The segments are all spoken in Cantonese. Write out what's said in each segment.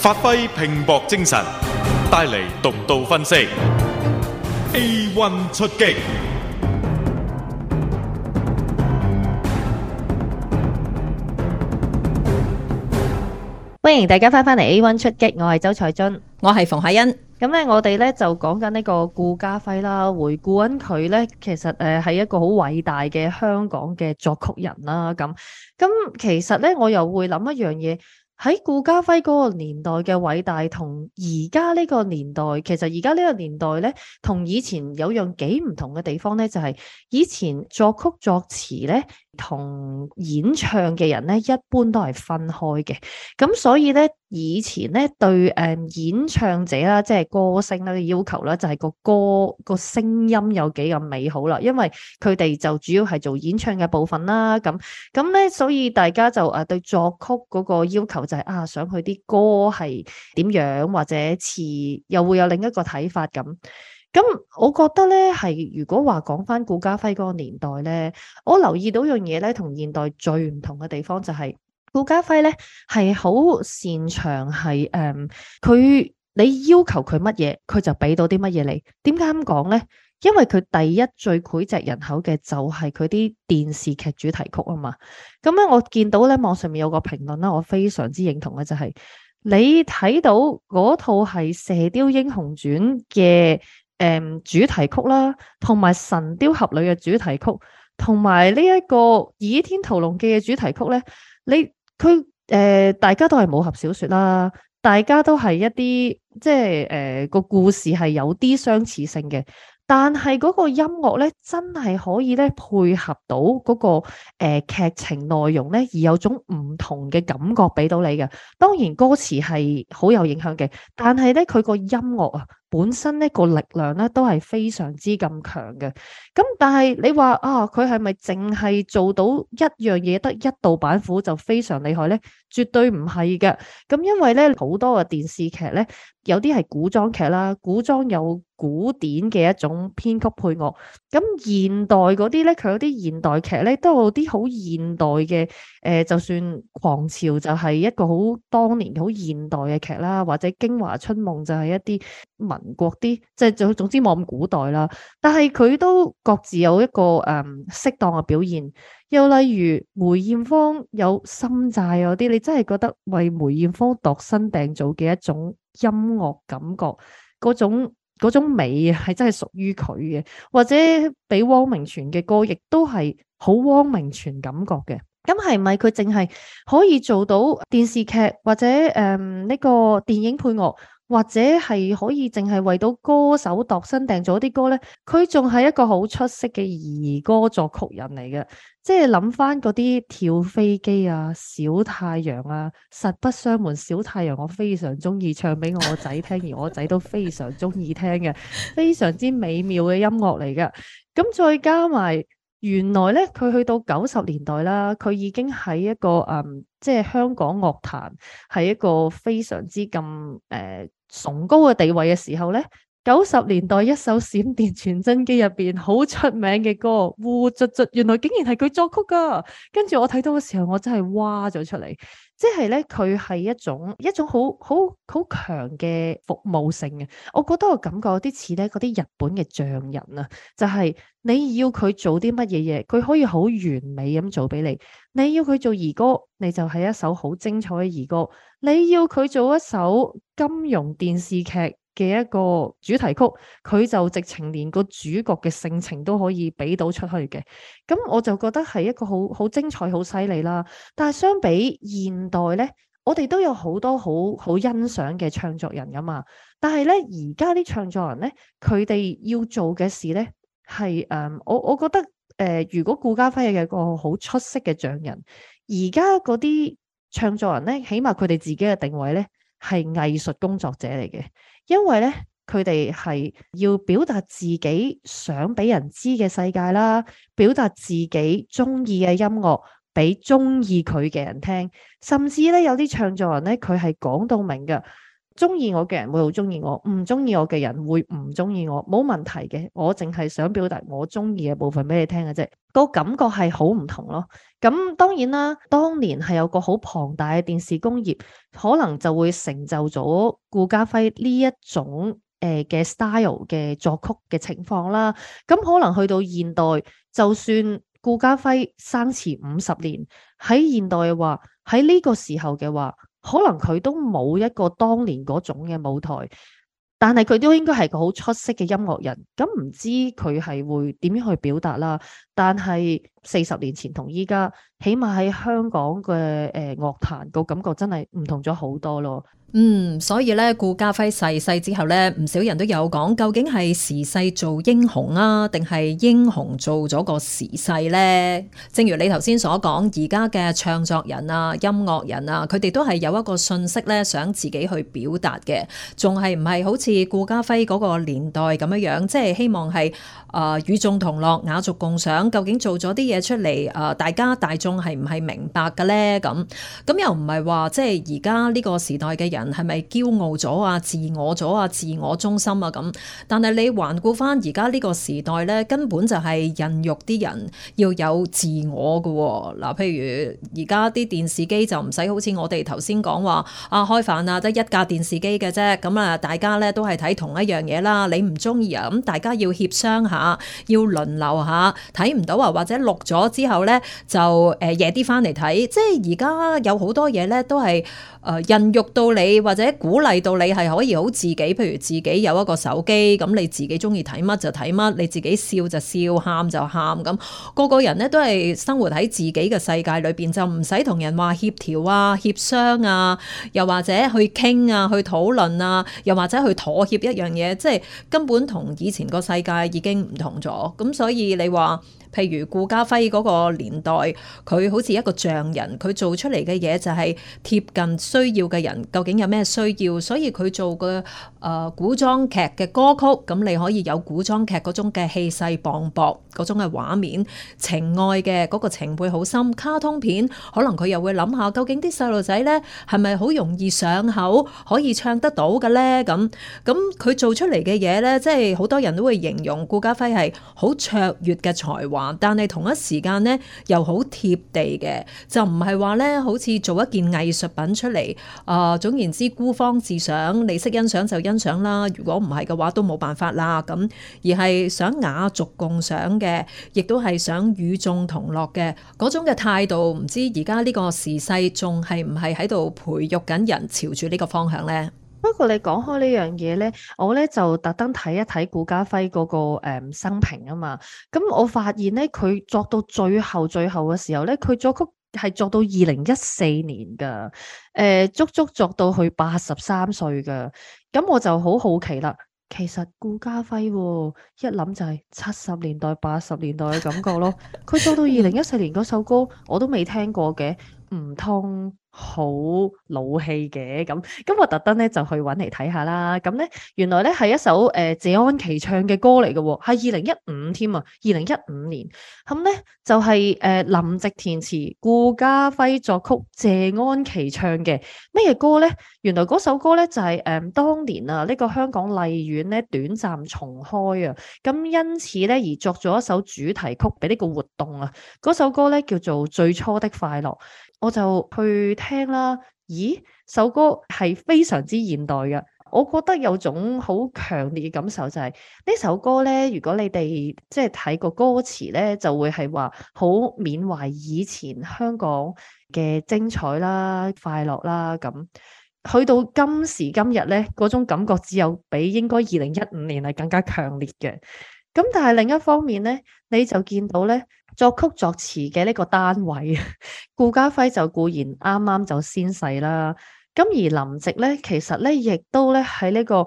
發揮拼搏精神，帶嚟獨到分析。A1 出擊。 歡迎大家翻嚟 A1 出擊，我係周采蓁， 我係馮凱欣。 咁咧，我哋咧就講緊呢個顧嘉輝啦，回顧緊佢咧，其實係一個好偉大嘅香港嘅作曲人啦。咁其實咧，我又會諗一樣嘢。喺顧嘉輝嗰個年代嘅偉大，同而家呢個年代，其實而家呢個年代咧，同以前有樣幾唔同嘅地方咧，就係以前作曲作詞咧，同演唱嘅人咧，一般都係分開嘅。咁所以咧，以前咧對演唱者啦，即係歌星啦嘅要求啦，就係個歌個聲音有幾咁美好啦。因為佢哋就主要係做演唱嘅部分啦。咁咧，所以大家就對作曲嗰個要求就係想佢啲歌係點樣，或者詞又會有另一個睇法咁。咁我覺得咧，係如果話講翻顧嘉輝嗰個年代咧，我留意到樣嘢咧，同現代最唔同嘅地方就係顧嘉輝咧係好擅長係佢你要求佢乜嘢，佢就俾到啲乜嘢你。點解咁講咧？因為佢第一最膾炙人口嘅就係佢啲電視劇主題曲啊嘛。咁咧，我見到咧網上面有個評論啦，我非常之認同嘅就係你睇到嗰套係《射鵰英雄傳》嘅主題曲啦，同埋《神鵰俠侶》嘅主題曲，同埋呢一個《倚天屠龍記》嘅主題曲咧，大家都係武俠小說啦，大家都係一啲即係個故事係有啲相似性嘅。但係嗰個音樂咧，真係可以咧配合到嗰個劇情內容咧，而有種唔同嘅感覺俾到你嘅。當然歌詞係好有影響嘅，但係咧佢個音樂啊本身呢個力量咧都係非常之咁強嘅。咁但係你話佢係咪淨係做到一樣嘢得一道板斧就非常厲害咧？絕對唔係嘅。咁因為咧好多嘅電視劇咧，有啲係古裝劇啦，古裝有古典嘅一種編曲配樂。咁現代嗰啲咧，佢有啲現代劇咧，都有啲好現代嘅就算狂潮就係一個好當年好現代嘅劇啦，或者京華春夢就係一啲民國啲，即係總之冇咁古代啦。但係佢都各自有一個適當嘅表現。又例如梅艷芳有心債嗰啲，你真係覺得為梅艷芳度身訂造嘅一種音樂感覺，嗰種美係真係屬於佢嘅。或者俾汪明荃嘅歌亦都係好汪明荃感覺嘅。咁係咪佢淨係可以做到電視劇或者呢個電影配樂，或者係可以淨係為到歌手度身訂做啲歌咧？佢仲係一個好出色嘅兒歌作曲人嚟嘅。即係諗翻嗰啲跳飛機啊、小太陽啊、實不相瞞，小太陽我非常中意唱俾我仔聽，而我仔都非常中意聽嘅，非常之美妙嘅音樂嚟嘅。咁再加埋原來咧，佢去到90年代啦，佢已經喺一個即係香港樂壇係一個非常之咁崇高嘅地位嘅時候咧。90年代一首閃電傳真機入邊好出名嘅歌《烏卒卒》，原來竟然係佢作曲噶。跟住我睇到嘅時候，我真係哇咗出嚟。即係咧，佢係一種好強嘅服務性嘅。我覺得我感覺有啲似咧嗰啲日本嘅匠人啊，就係你要佢做啲乜嘢嘢，佢可以好完美咁做俾你。你要佢做兒歌，你就係一首好精彩嘅兒歌。你要佢做一首金庸電視劇嘅一個主題曲，佢就直情連個主角嘅性情都可以俾到出去嘅。咁我就覺得係一個好精彩、好犀利啦。但係相比現代咧，我哋都有好多好欣賞嘅唱作人噶嘛。但係咧，而家啲唱作人咧，佢哋要做嘅事咧係我覺得如果顧嘉輝係一個好出色嘅匠人，而家嗰啲唱作人咧，起碼佢哋自己嘅定位咧係藝術工作者嚟嘅。因為咧，佢哋係要表達自己想俾人知嘅世界啦，表達自己中意嘅音樂俾中意佢嘅人聽，甚至咧有啲唱作人咧，佢係講到明嘅。 中意我嘅人會好中意我，唔中意我嘅人會唔中意我，冇問題嘅。我淨係想表達我中意嘅部分俾你聽嘅啫，個感覺係好唔同咯。咁當然啦，當年係有個好龐大嘅電視工業，可能就會成就咗顧嘉輝呢一種嘅 style 嘅作曲嘅情況啦。咁可能去到現代，就算顧嘉輝生遲50年，喺現代嘅話，喺呢個時候嘅話，可能佢都冇一個當年嗰種嘅舞台，但係佢都應該係個好出色嘅音樂人。咁唔知佢係會點樣去表達啦？但係40年前同依家，起碼喺香港嘅樂壇個感覺真係唔同咗好多咯。 所以咧，顧嘉輝逝世之後咧，唔少人都有講，究竟係時勢做英雄啊，定係英雄做咗個時勢咧？正如你頭先所講，而家嘅唱作人啊、音樂人啊，佢哋都係有一個訊息咧，想自己去表達嘅，仲係唔係好似顧嘉輝嗰個年代咁樣樣，即係希望係與眾同樂、雅俗共賞。究竟做咗啲嘢出嚟，大家大眾係唔係明白嘅咧？咁又唔係話即係而家呢個時代嘅人係咪驕傲咗啊、自我咗啊、自我中心啊咁？但係你環顧翻而家呢個時代咧，根本就係孕育啲人要有自我嘅喎。嗱，譬如而家啲電視機就唔使好似我哋頭先講話開飯啊，得一架電視機嘅啫。咁啊，大家咧都係睇同一樣嘢啦。你唔中意啊，咁大家要協商下，要輪流下，睇唔到啊或者錄咗之後咧就夜啲翻嚟睇。即係而家有好多嘢咧都係孕育到你，或者鼓勵到你係可以好自己，譬如自己有一個手機，咁你自己中意睇乜就睇乜，你自己笑就笑，喊就喊，咁個個人咧都係生活喺自己嘅世界裏邊，就唔使同人話協調啊、協商啊，又或者去傾啊、去討論啊，又或者去妥協一樣嘢，即係根本同以前個世界已經唔同咗。咁所以你話，譬如顧嘉輝嗰個年代，佢好似一個匠人，佢做出嚟嘅嘢就係貼近需要嘅人究竟有咩需要，所以佢做嘅古裝劇嘅歌曲，咁你可以有古裝劇嗰種嘅氣勢磅礴，嗰種嘅畫面，情愛嘅嗰個情輩好深。卡通片可能佢又會諗下，究竟啲細路仔咧係咪好容易上口，可以唱得到嘅咧？咁佢做出嚟嘅嘢咧，即係好多人都會形容顧嘉輝係好卓越嘅才華。但係同一時間咧又好貼地嘅，就唔係話咧好似做一件藝術品出嚟，總言之孤芳自賞，你識欣賞就欣賞啦，如果唔係嘅話都冇辦法啦。咁而係想雅俗共賞嘅，亦都係想與眾同樂嘅嗰種嘅態度。唔知而家呢個時勢仲係唔係喺度培育緊人朝住呢個方向咧？ 不過你講開呢樣嘢咧，我咧就特登睇一睇顧嘉輝嗰個生平啊嘛。咁我發現咧，佢作到最後嘅時候咧，佢作曲係作到2014年噶，足足作到佢83歲噶。咁我就好好奇啦，其實顧嘉輝一諗就係70年代、80年代嘅感覺咯。佢作到2014年嗰首歌，我都未聽過嘅，唔通好老氣嘅？咁我特登咧就去揾嚟睇下啦。咁咧原來咧係一首謝安琪唱嘅歌嚟嘅喎，係2015添啊，2015年。咁咧就係林夕填詞，顧嘉輝作曲，謝安琪唱嘅咩歌咧？原來嗰首歌咧就係當年啊呢個香港麗苑咧短暫重開啊，咁因此咧而作咗一首主題曲俾呢個活動啊。嗰首歌咧叫做《最初的快樂》。我就去聽啦，咦，首歌係非常之現代嘅，我覺得有種好強烈嘅感受就係呢首歌咧，如果你哋即係睇個歌詞咧，就會係話好緬懷以前香港嘅精彩啦、快樂啦咁。去到今時今日咧，嗰種感覺只有比應該2015年係更加強烈嘅。咁但係另一方面咧，你就見到咧作曲作詞嘅呢個單位，顧嘉輝就固然啱啱就先逝啦。咁而林夕咧，其實咧亦都咧喺呢個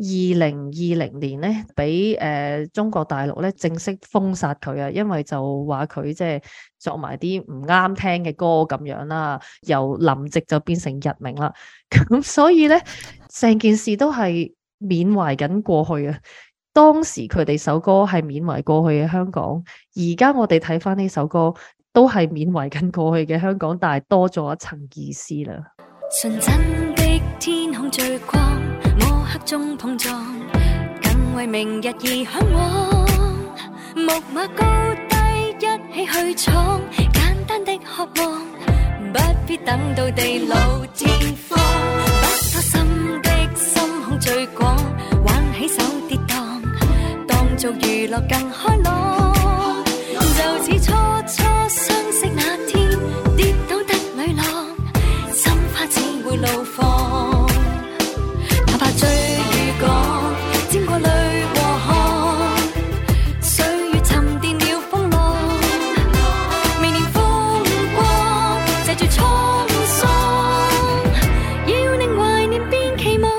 2020年咧，俾中國大陸咧正式封殺佢啊，因為就話佢即係作埋啲唔啱聽嘅歌咁樣啦，由林夕就變成日名啦。咁所以咧，成件事都係緬懷緊過去啊。當時佢哋首歌係緬懷過去嘅香港，而家我哋睇翻呢首歌都係緬懷緊過去嘅香港，但係多咗一層意思啦。 純真的天空最光，摸黑中碰撞，更為明日而向往。木馬高低一起去闖，簡單的渴望，不必等到地老天荒。不多心的心胸最廣，挽起手跌宕，當做娛樂更開朗。就似初初相識那天，跌倒的女郎，心花只會怒放。哪怕追與趕，沾過淚和汗，歲月沉澱了風浪，未念風光，藉住滄桑，要令懷念變期望。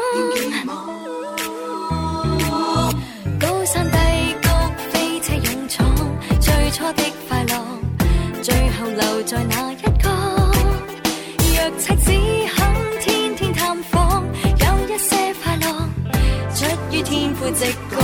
高山低谷飛車勇闖，最初的快樂，最後留在那一角。若赤子肯天天探訪，有一些快樂出於天賦直覺。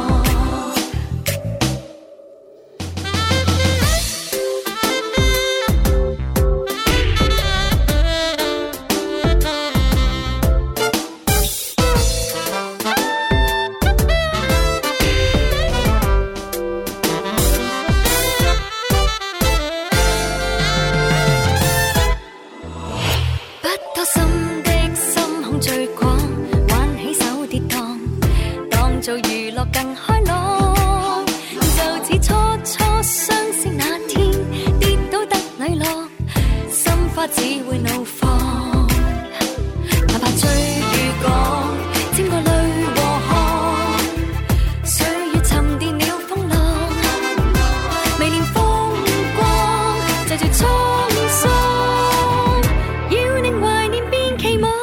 做娛樂更開朗，就似初初相識那天，跌倒得女郎，心花只會怒放。哪怕追與趕，沾過淚和汗，歲月沉澱了風浪，未念風光，藉住滄桑，要令懷念變期望。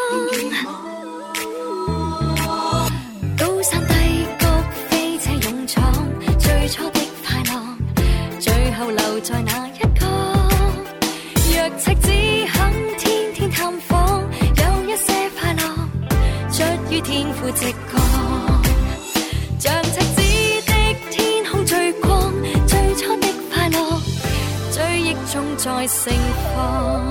高山低留在那一角，若赤子肯天天探訪，有一些快樂出於天賦直覺。像赤子的天空最光，最初的快樂追憶中再盛放。